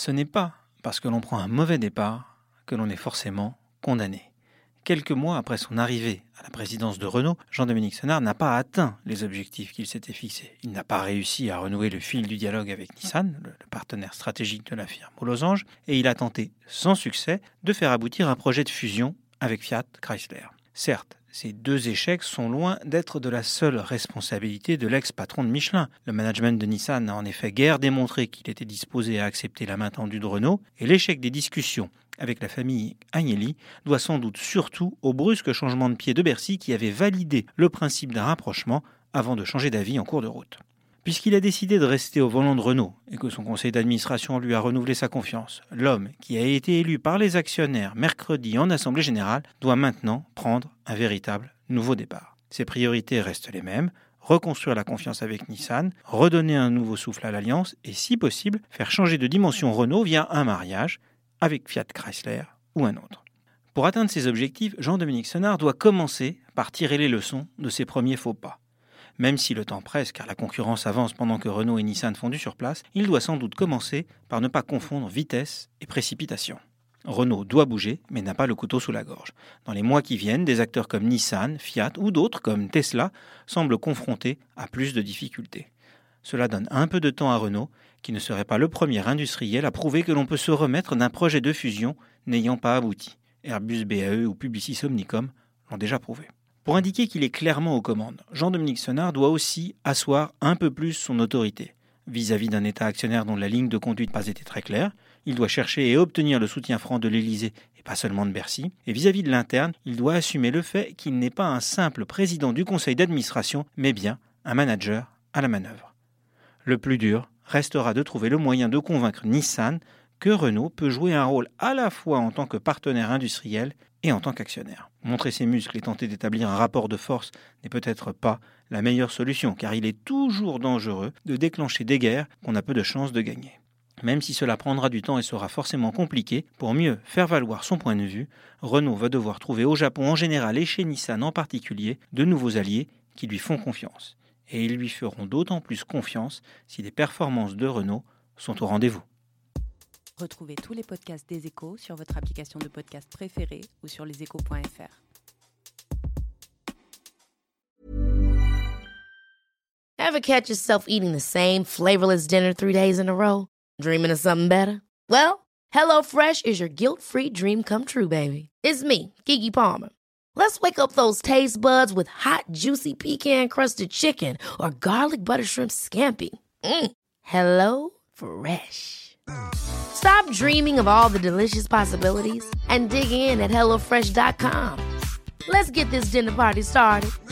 Ce n'est pas parce que l'on prend un mauvais départ que l'on est forcément condamné. Quelques mois après son arrivée à la présidence de Renault, Jean-Dominique Senard n'a pas atteint les objectifs qu'il s'était fixés. Il n'a pas réussi à renouer le fil du dialogue avec Nissan, le partenaire stratégique de la firme aux losanges, et il a tenté, sans succès, de faire aboutir un projet de fusion avec Fiat Chrysler. Certes, ces deux échecs sont loin d'être de la seule responsabilité de l'ex-patron de Michelin. Le management de Nissan n'a en effet guère démontré qu'il était disposé à accepter la main tendue de Renault, et l'échec des discussions avec la famille Agnelli doit sans doute surtout au brusque changement de pied de Bercy qui avait validé le principe d'un rapprochement avant de changer d'avis en cours de route. Puisqu'il a décidé de rester au volant de Renault et que son conseil d'administration lui a renouvelé sa confiance, l'homme qui a été élu par les actionnaires mercredi en Assemblée Générale doit maintenant prendre un véritable nouveau départ. Ses priorités restent les mêmes, reconstruire la confiance avec Nissan, redonner un nouveau souffle à l'alliance et, si possible, faire changer de dimension Renault via un mariage avec Fiat Chrysler ou un autre. Pour atteindre ses objectifs, Jean-Dominique Senard doit commencer par tirer les leçons de ses premiers faux pas. Même si le temps presse car la concurrence avance pendant que Renault et Nissan font du surplace, il doit sans doute commencer par ne pas confondre vitesse et précipitation. Renault doit bouger, mais n'a pas le couteau sous la gorge. Dans les mois qui viennent, des acteurs comme Nissan, Fiat ou d'autres comme Tesla semblent confrontés à plus de difficultés. Cela donne un peu de temps à Renault, qui ne serait pas le premier industriel à prouver que l'on peut se remettre d'un projet de fusion n'ayant pas abouti. Airbus, BAE ou Publicis Omnicom l'ont déjà prouvé. Pour indiquer qu'il est clairement aux commandes, Jean-Dominique Senard doit aussi asseoir un peu plus son autorité. Vis-à-vis d'un État actionnaire dont la ligne de conduite n'a pas été très claire, il doit chercher et obtenir le soutien franc de l'Élysée et pas seulement de Bercy. Et vis-à-vis de l'interne, il doit assumer le fait qu'il n'est pas un simple président du conseil d'administration, mais bien un manager à la manœuvre. Le plus dur restera de trouver le moyen de convaincre Nissan que Renault peut jouer un rôle à la fois en tant que partenaire industriel et en tant qu'actionnaire. Montrer ses muscles et tenter d'établir un rapport de force n'est peut-être pas la meilleure solution, car il est toujours dangereux de déclencher des guerres qu'on a peu de chances de gagner. Même si cela prendra du temps et sera forcément compliqué, pour mieux faire valoir son point de vue, Renault va devoir trouver au Japon en général et chez Nissan en particulier de nouveaux alliés qui lui font confiance. Et ils lui feront d'autant plus confiance si les performances de Renault sont au rendez-vous. Retrouvez tous les podcasts des Échos sur votre application de podcast préférée ou sur leséchos.fr. Ever catch yourself eating the same flavorless dinner 3 days in a row? Dreaming of something better? Well, HelloFresh is your guilt-free dream come true, baby. It's me, Keke Palmer. Let's wake up those taste buds with hot, juicy pecan-crusted chicken or garlic butter shrimp scampi. Hello Fresh. Stop dreaming of all the delicious possibilities and dig in at HelloFresh.com. Let's get this dinner party started.